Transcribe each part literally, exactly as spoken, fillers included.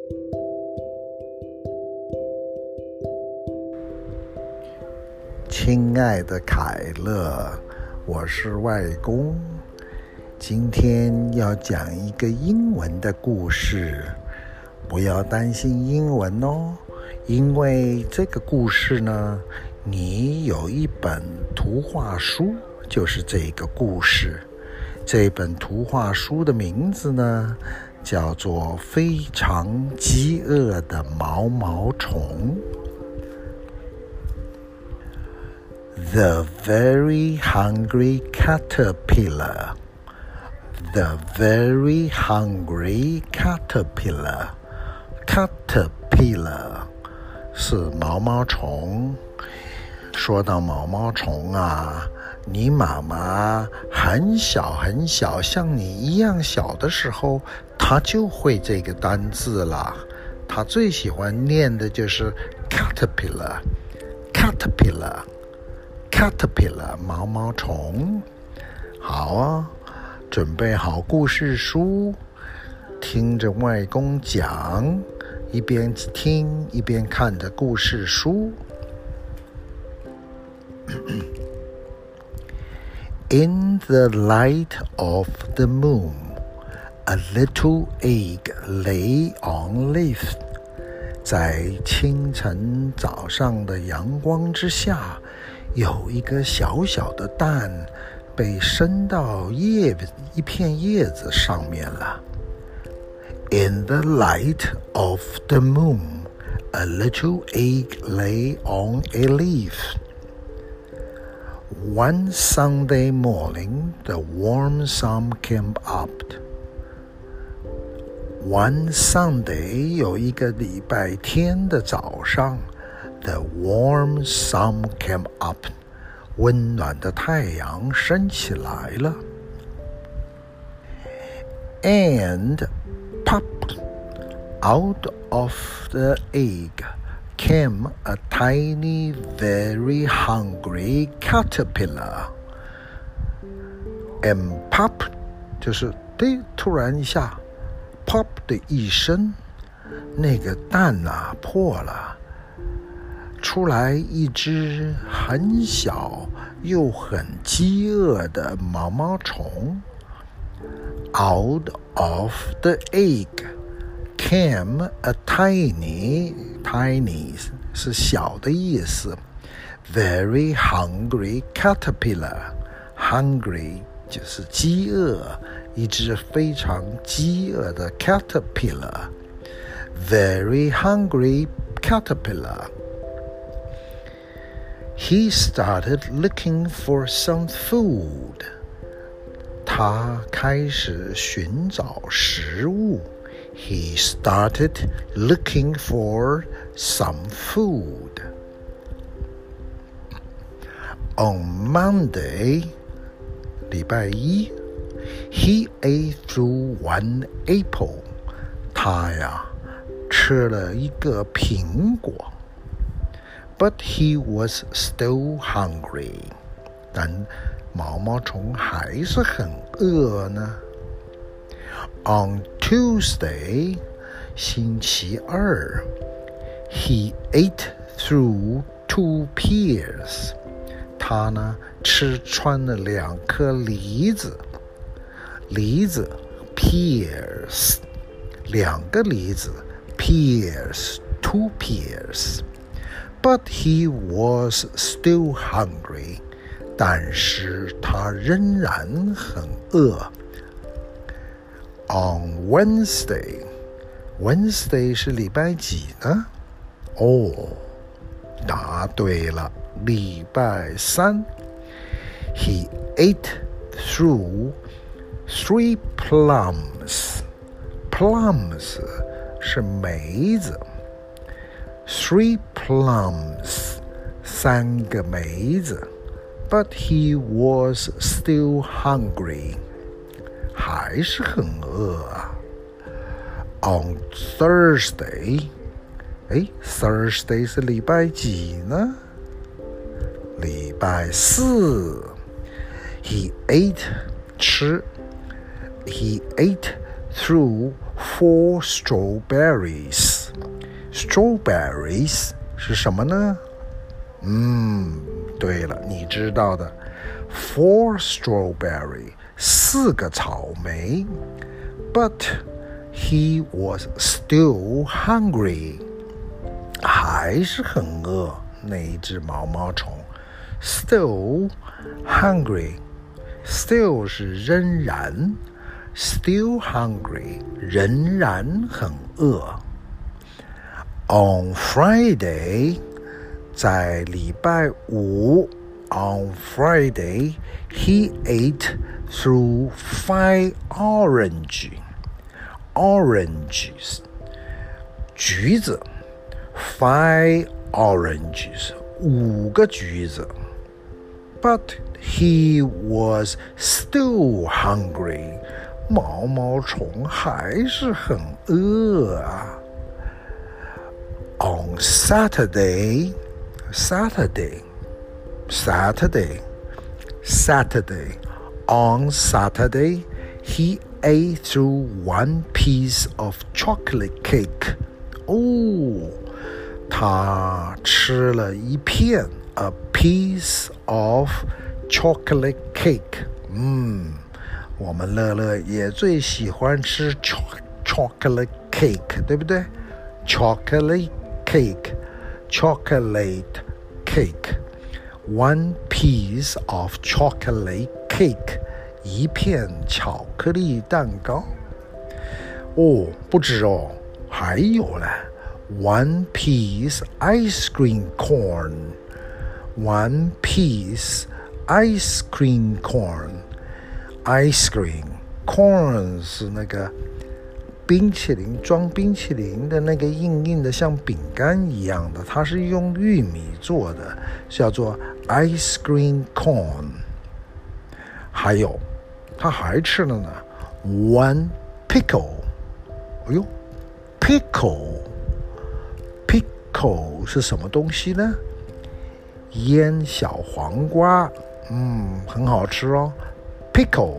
親愛的凱樂，我是外公，今天要講一個英文的故事，不要擔心英文哦，因為這個故事呢，你有一本圖畫書，就是這個故事。這本圖畫書的名字呢，叫做《非常飢餓的毛毛蟲》。The very hungry caterpillar. The very hungry caterpillar. Caterpillar 是毛毛蟲。說到毛毛蟲啊，你媽媽很小很小，像你一樣小的時候，她就會這個單字了。她最喜歡念的就是 caterpillar caterpillar Caterpillar 毛毛蟲。好啊，準備好故事書，聽着外公講，一邊聽一邊看着故事書。In the light of the moon, a little egg lay on leaf. 在清晨早上的陽光之下，有一個小小的蛋被伸到葉一片葉子上面了。In the light of the moon, a little egg lay on a leaf. One Sunday morning, the warm sun came up. One Sunday, 有一個禮拜天的早上，The warm sun came up. 溫暖的太陽升起來了。And popped out of the egg came a tiny, very hungry caterpillar. And pop 就是对，突然一下 pop 的一聲，那個蛋啊破了，出來一隻很小又很飢餓的毛毛蟲。Out of the egg came a tiny, tiny 是小的意思。Very hungry caterpillar. Hungry 就是飢餓，一隻非常飢餓的 caterpillar. Very hungry caterpillar. He started looking for some food. 他開始尋找食物。He started looking for some food. On Monday, 禮拜一 he ate through one apple. 他呀，吃了一個蘋果。But he was still hungry. 但毛毛蟲還是很餓呢。On Tuesday, 星期二 he ate through two pears. 他呢，吃穿了兩顆梨子。梨子 pears. 兩個梨子 pears, two pears.But he was still hungry. 但是他仍然很餓。On Wednesday, Wednesday 是禮拜幾呢？哦，答對了，禮拜三。He ate through three plums. Plums 是梅子。Three plums, 三個梅子。But he was still hungry. 還是很餓啊。On Thursday, 誒 Thursday 是禮拜幾呢？禮拜四。He ate 吃。He ate through four strawberries. Strawberries 是什麼呢？嗯，對了，你知道的 ，four strawberry 四個草莓 ，but he was still hungry 還是很餓。那一隻毛毛蟲 ，still hungry， still 是仍然 ，still hungry 仍然很餓。On Friday。在禮拜五 on Friday, he ate through five orange, oranges, 橘子 five oranges, 五個橘子 But he was still hungry, 毛毛蟲還是很餓啊。On Saturday, Saturday, Saturday, Saturday. On Saturday, he ate through one piece of chocolate cake. 哦，他吃了一片 a piece of chocolate cake. 嗯，我們樂樂也最喜歡吃 chocolate cake, 對不對？ Chocolate cake, chocolate cake, one piece of chocolate cake, 一片巧克力蛋糕。哦，不止哦，還有呢 one piece ice cream corn, one piece ice cream corn, ice cream corn 是那個冰淇淋，裝冰淇淋的那個硬硬的像餅乾一樣的，它是用玉米做的，叫做 ice cream cone。 還有他還吃了呢 one pickle。 哎呦 pickle pickle 是什麼東西呢？醃小黃瓜，嗯，很好吃哦。 pickle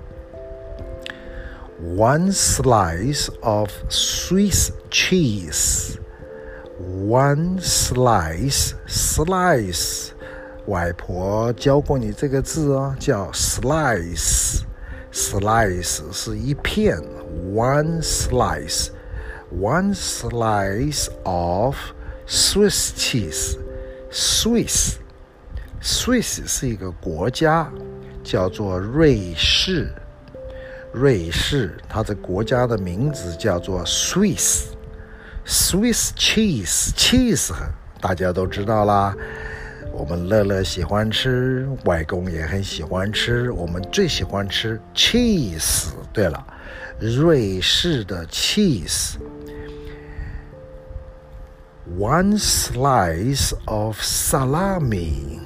One slice of Swiss cheese. One slice, slice. 外婆教過你這個字哦，叫 slice. Slice 是一片 One slice. One slice of Swiss cheese. Swiss. Swiss 是一個國家，叫做瑞士。瑞士，它的國家的名字叫做 Swiss Swiss cheese cheese 大家都知道啦，我們樂樂喜歡吃，外公也很喜歡吃，我們最喜歡吃 cheese。 對了，瑞士的 cheese。 One slice of salami.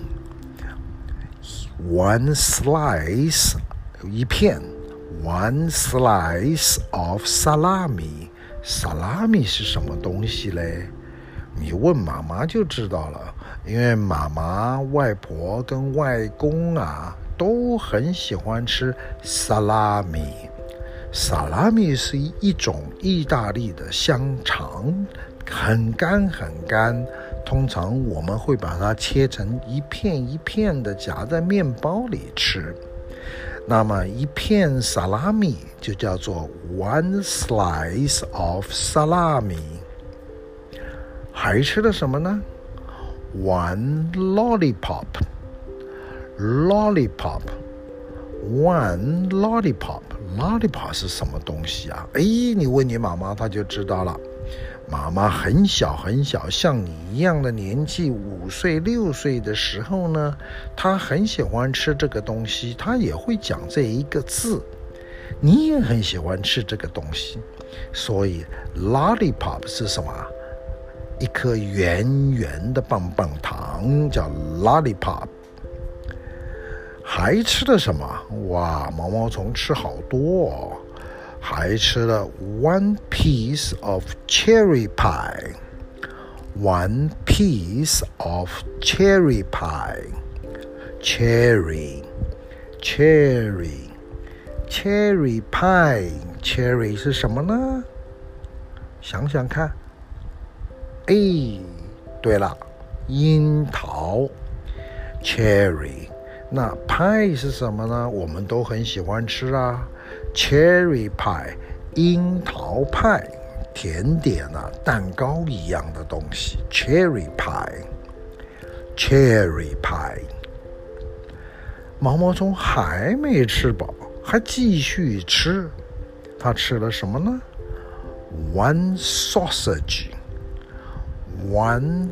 One slice 一片One slice of salami. Salami 是什麼東西嘞？你問媽媽就知道了，因為媽媽、外婆跟外公啊都很喜歡吃 salami。 Salami 是一種意大利的香腸，很乾很乾，通常我們會把它切成一片一片的夾在麵包裡吃。那麼一片 salami 就叫做 one slice of salami。 還吃了什麼呢？ one lollipop. Lollipop. One lollipop. Lollipop 是什麼東西啊？哎，你問你媽媽她就知道了。媽媽很小很小，像你一樣的年紀，五歲六歲的時候呢，她很喜歡吃這個東西，她也會講這一個字。你也很喜歡吃這個東西，所以 lollipop 是什麼？一顆圓圓的棒棒糖叫 lollipop。 還吃了什麼？哇，毛毛蟲吃好多哦。還吃了 one piece of cherry pie. One piece of cherry pie. Cherry, cherry, Cherry pie，Cherry 是什麼呢？想想看。哎，對了，櫻桃 Cherry。那 pie 是什麼呢？我們都很喜歡吃啊。Cherry pie， 櫻桃派，甜點啊，蛋糕一樣的東西。Cherry pie，Cherry pie。毛毛蟲還沒吃飽，還繼續吃。他吃了什麼呢？ One sausage，One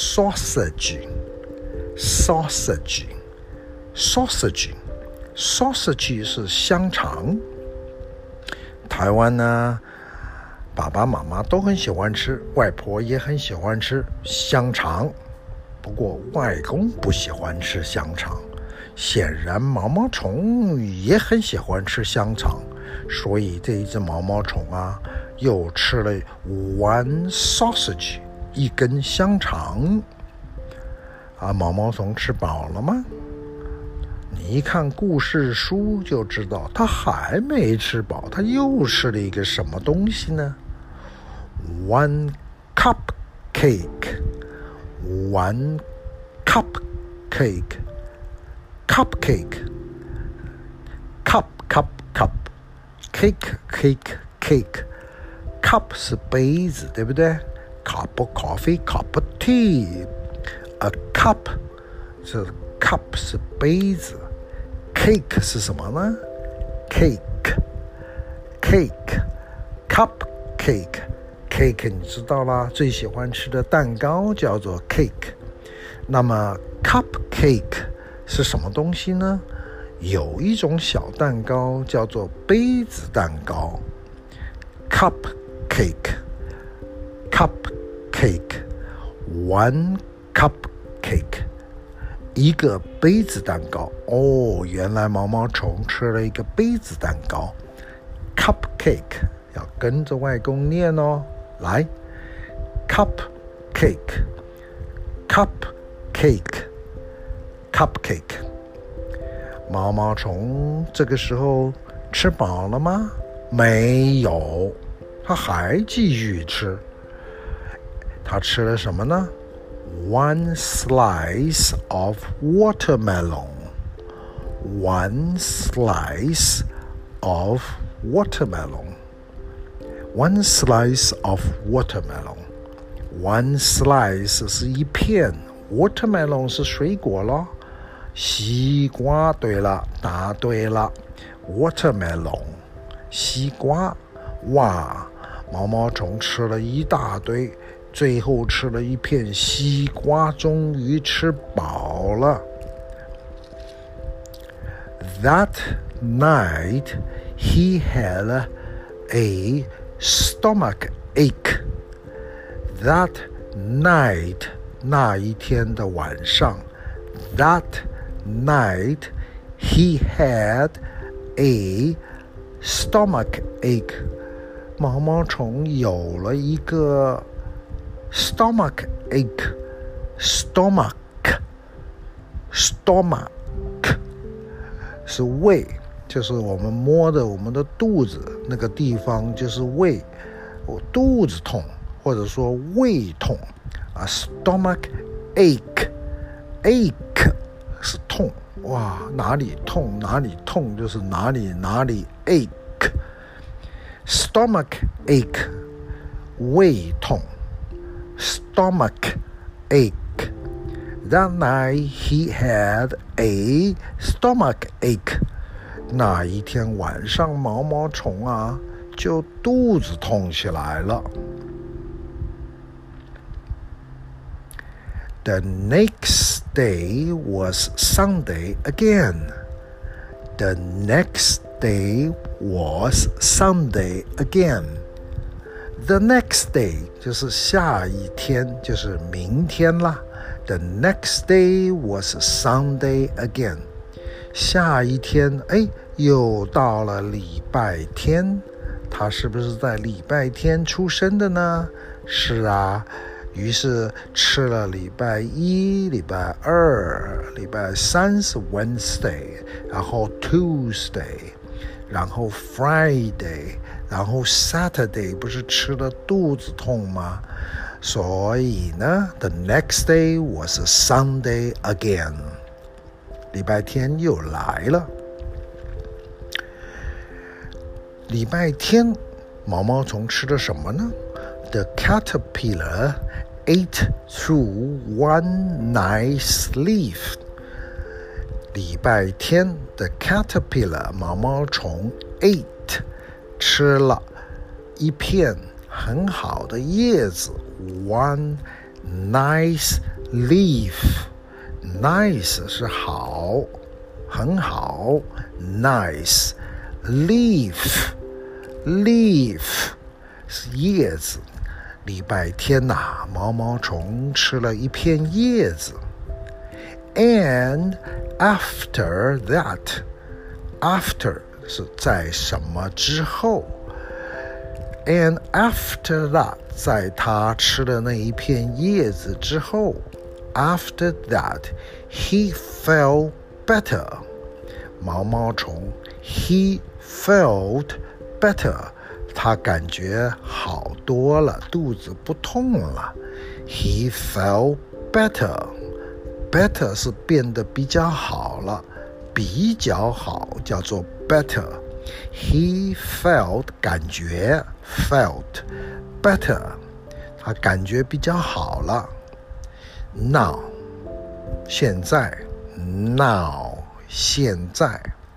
sausage，sausage，sausage，sausage 是香腸。台灣呢，爸爸媽媽都很喜歡吃，外婆也很喜歡吃香腸。不過外公不喜歡吃香腸。顯然毛毛蟲也很喜歡吃香腸，所以這一隻毛毛蟲啊，又吃了 one sausage， 一根香腸。啊，毛毛蟲吃飽了嗎？你一看故事書就知道，他還沒吃飽，他又吃了一個什麼東西呢？ One cupcake，One cupcake。Cupcake, cup, cup, cup, cake, cake, cake. Cup 是杯子，對不對？ Cup of coffee, cup of tea. A cup 是 cup 是杯子。Cake 是什麼呢？ Cake, cake, cupcake, cake 你知道啦，最喜歡吃的蛋糕叫做 cake。那麼 cupcake是什麼東西呢？有一種小蛋糕叫做杯子蛋糕 Cupcake Cupcake One cupcake 一個杯子蛋糕。哦，原來毛毛蟲吃了一個杯子蛋糕 Cupcake 要跟着外公念哦。來 Cupcake Cupcake Cupcake。 毛毛蟲這個時候吃飽了嗎？沒有，他還繼續吃。他吃了什麼呢？ One slice of watermelon One slice of watermelon One slice of watermelon One slice 是一片， watermelon 是水果咯。西瓜，對了，答對了 ，watermelon， 西瓜，哇，毛毛蟲吃了一大堆，最後吃了一片西瓜，終於吃飽了。That night he had a stomach ache. That night, 那一天的晚上 ，that night he had a stomach ache. 毛毛蟲有了一個 stomach ache. Stomach, stomach 是胃，就是我們摸的我們的肚子那個地方就是胃，我肚子痛或者說胃痛啊 ，stomach ache, ache 是痛，哇，哪裡痛哪裡痛就是哪裡哪裡 ache, stomach ache 胃痛 ，stomach ache. That night he had a stomach ache. 那一天晚上毛毛蟲啊就肚子痛起來了。The next day was Sunday again. The next day was Sunday again. The next day 就是下一天，就是明天啦。The next day was Sunday again. 下一天，哎，又到了禮拜天。他是不是在禮拜天出生的呢？是啊。於是吃了禮拜一、禮拜二、禮拜三是 Wednesday， 然後 Tuesday， 然後 Friday， 然後 Saturday 不是吃了肚子痛嗎？所以呢 The next day was a Sunday again， 禮拜天又來了。禮拜天毛毛蟲吃了什麼呢？ The caterpillar ate through one nice leaf。禮拜天 The caterpillar 毛毛蟲 ate 吃了一片很好的葉子 one nice leaf。 nice 是好很好 nice leaf leaf 是葉子。禮拜天吶、啊，毛毛蟲吃了一片葉子。And after that， after 是在什麼之後 And after that， 在他吃了那一片葉子之後 After that he felt better。 毛毛蟲 he felt better， 他感覺好多了，肚子不痛了。 He felt better， better 是变得比較好了，比較好叫做 better。 He felt 感覺 felt better， 他感覺比較好了。 Now 現在 Now 現在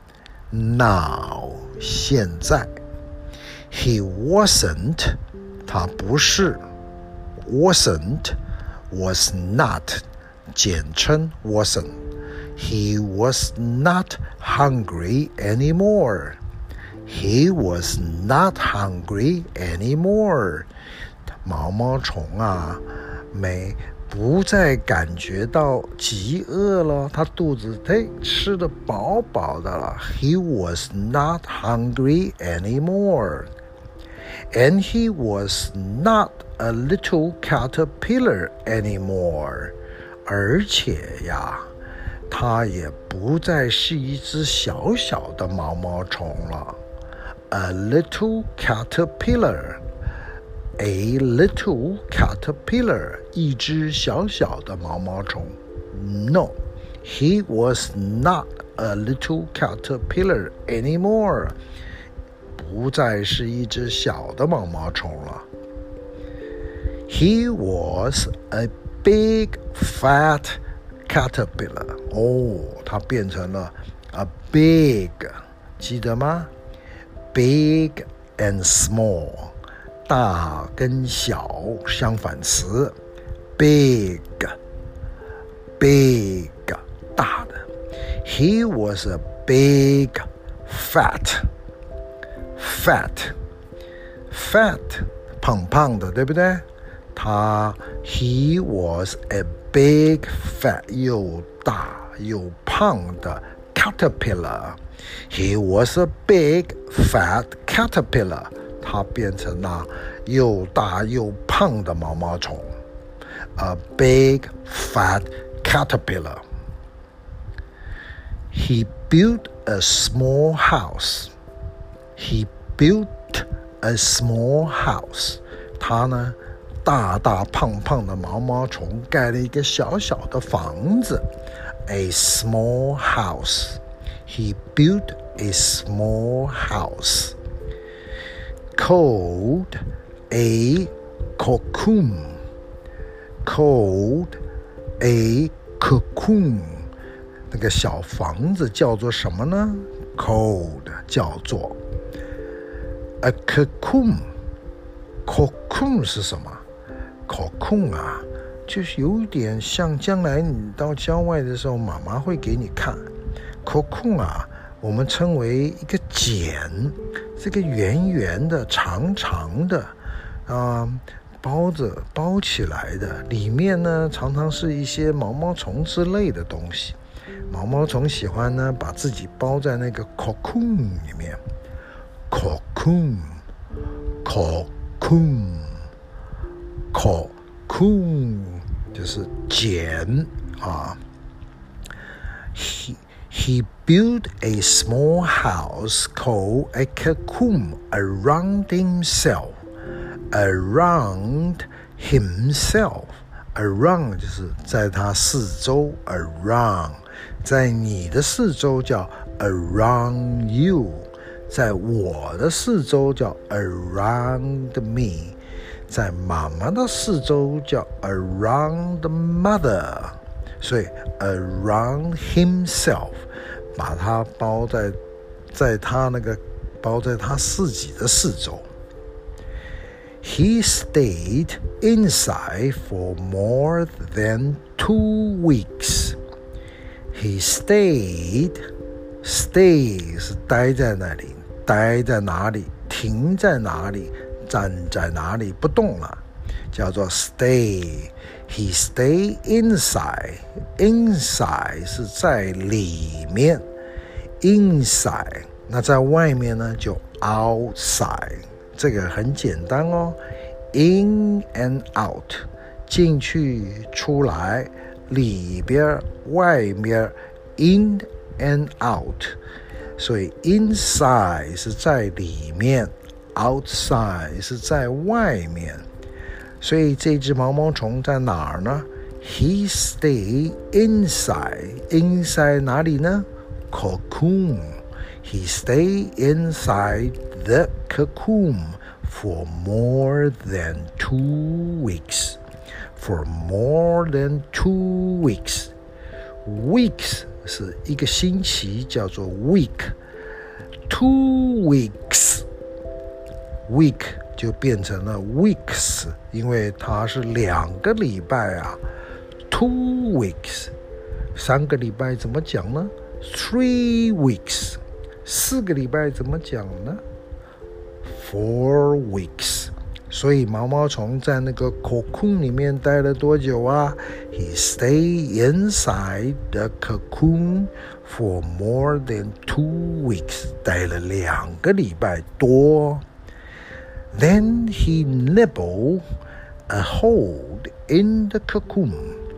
Now 現在 He wasn't 他不是 wasn't was not 簡稱 wasn't He was not hungry anymore He was not hungry anymore 毛毛蟲啊沒不再感覺到飢餓了，他肚子嘿吃得飽飽的了。 He was not hungry anymore And he was not a little caterpillar anymore 而且呀他也不再是一隻小小的毛毛蟲了。 A little caterpillar A little caterpillar 一隻小小的毛毛蟲。 No, he was not a little caterpillar anymore 不再是一隻小的毛毛蟲了。 He was a big fat caterpillar 哦，它變成了 a big 記得嗎？ Big and small大跟小相反詞 big big 大的 He was a big fat fat fat 胖胖的，对不對？他 He was a big fat 又大又胖的 caterpillar He was a big fat caterpillar它變成了又大又胖的毛毛蟲 A big fat caterpillar He built a small house He built a small house 他呢大大胖胖的毛毛蟲蓋了一個小小的房子 A small house He built a small house Called a cocoon Called a cocoon 那個小房子叫做什麼呢？ Called 叫做 a cocoon Cocoon 是什麼？ Cocoon 啊就是有點像將來你到郊外的時候媽媽會給你看 Cocoon 啊我們稱為一個繭這個圓圓的長長的啊、呃、包着包起來的裡面呢常常是一些毛毛蟲之類的東西毛毛蟲喜歡呢把自己包在那個 cocoon 裡面 cocoon cocoon cocoon 就是繭啊 he, He built a small house called a cocoon around himself. Around himself. Around 就是在他四周 around 在你的四周叫 around you 在我的四周叫 around me 在媽媽的四周叫 around mother 所以 around himself 把它包在在他那個包在他自己的四周He stayed inside for more than two weeks. He stayed, stay 是待在那裡，待在哪裡，停在哪裡，站在哪裡，不動了，叫做 stay. He stayed inside. Inside 是在裡面 ，inside 那在外面呢就 outside。这個很簡單哦 ，in and out， 進去出來，裡邊外面 ，in and out， 所以 inside 是在裡面 ，outside 是在外面，所以這隻毛毛蟲在哪兒呢 ？He stayed inside， inside 哪裡呢 ？Cocoon， He stayed inside the cocoon for more than two weeks. For more than two weeks. Weeks 是一個星期，叫做 week. Two weeks. Week 就變成了 weeks， 因為它是兩個禮拜啊。Two weeks. 三個禮拜怎麼講呢？ Three weeks. 四個禮拜怎麼講呢 ？Four weeks. 所以毛毛蟲在那個 cocoon 裡面待了多久啊 ？He stayed inside the cocoon for more than two weeks. 待了兩個禮拜多。Then he nibbled a hole in the cocoon.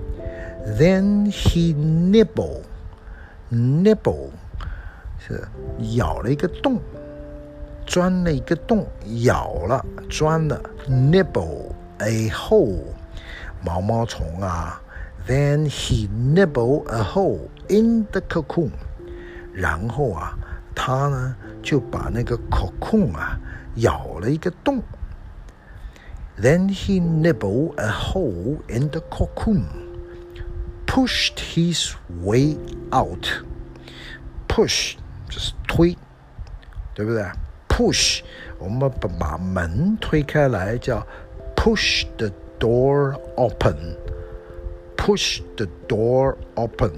Then he nibbled, nibble 是咬了一個洞，鑽了一個洞，咬了，鑽了 ，nibble a hole， 毛毛蟲啊 ，then he nibbled a hole in the cocoon， 然後啊，他呢就把那個 cocoon 啊咬了一個洞 ，then he nibbled a hole in the cocoon，pushed his way out，push 就是推，對不对？Push， 我們把門推開來叫 push the door open。Push the door open。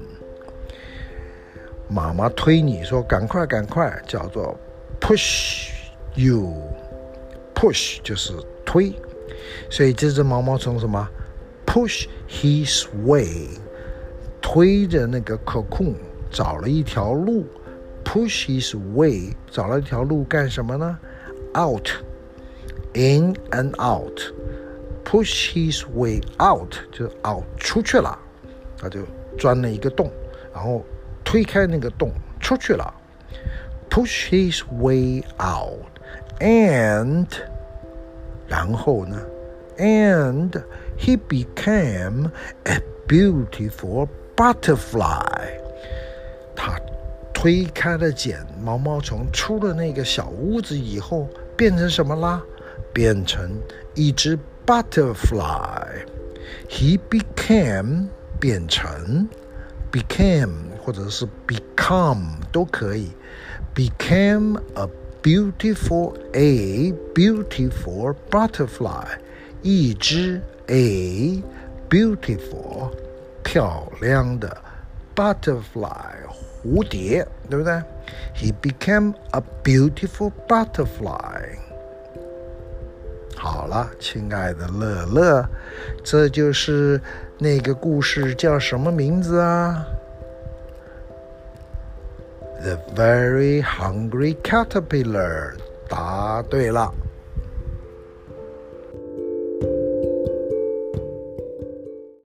媽媽推你說趕快趕快，叫做 push you。Push 就是推，所以這隻毛毛蟲什麼 ？Push his way， 推着那個 cocoon 找了一條路。Push his way 找了一條路幹什麼呢 ？Out, in and out. Push his way out 就 out 出去了，他就鑽了一個洞，然後推開那個洞出去了。Push his way out and 然後呢 ？And he became a beautiful butterfly. 他推開了繭，毛毛蟲出了那個小屋子以後，變成什麼啦？變成一隻 butterfly. He became 變成 became 或者是 become 都可以。Became a beautiful a beautiful butterfly. 一隻 a beautiful 漂亮的 butterfly.蝴蝶，對不對 ？He became a beautiful butterfly. 好了，親愛的樂樂，這就是那個故事叫什麼名字啊 ？The Very Hungry Caterpillar. 答對了。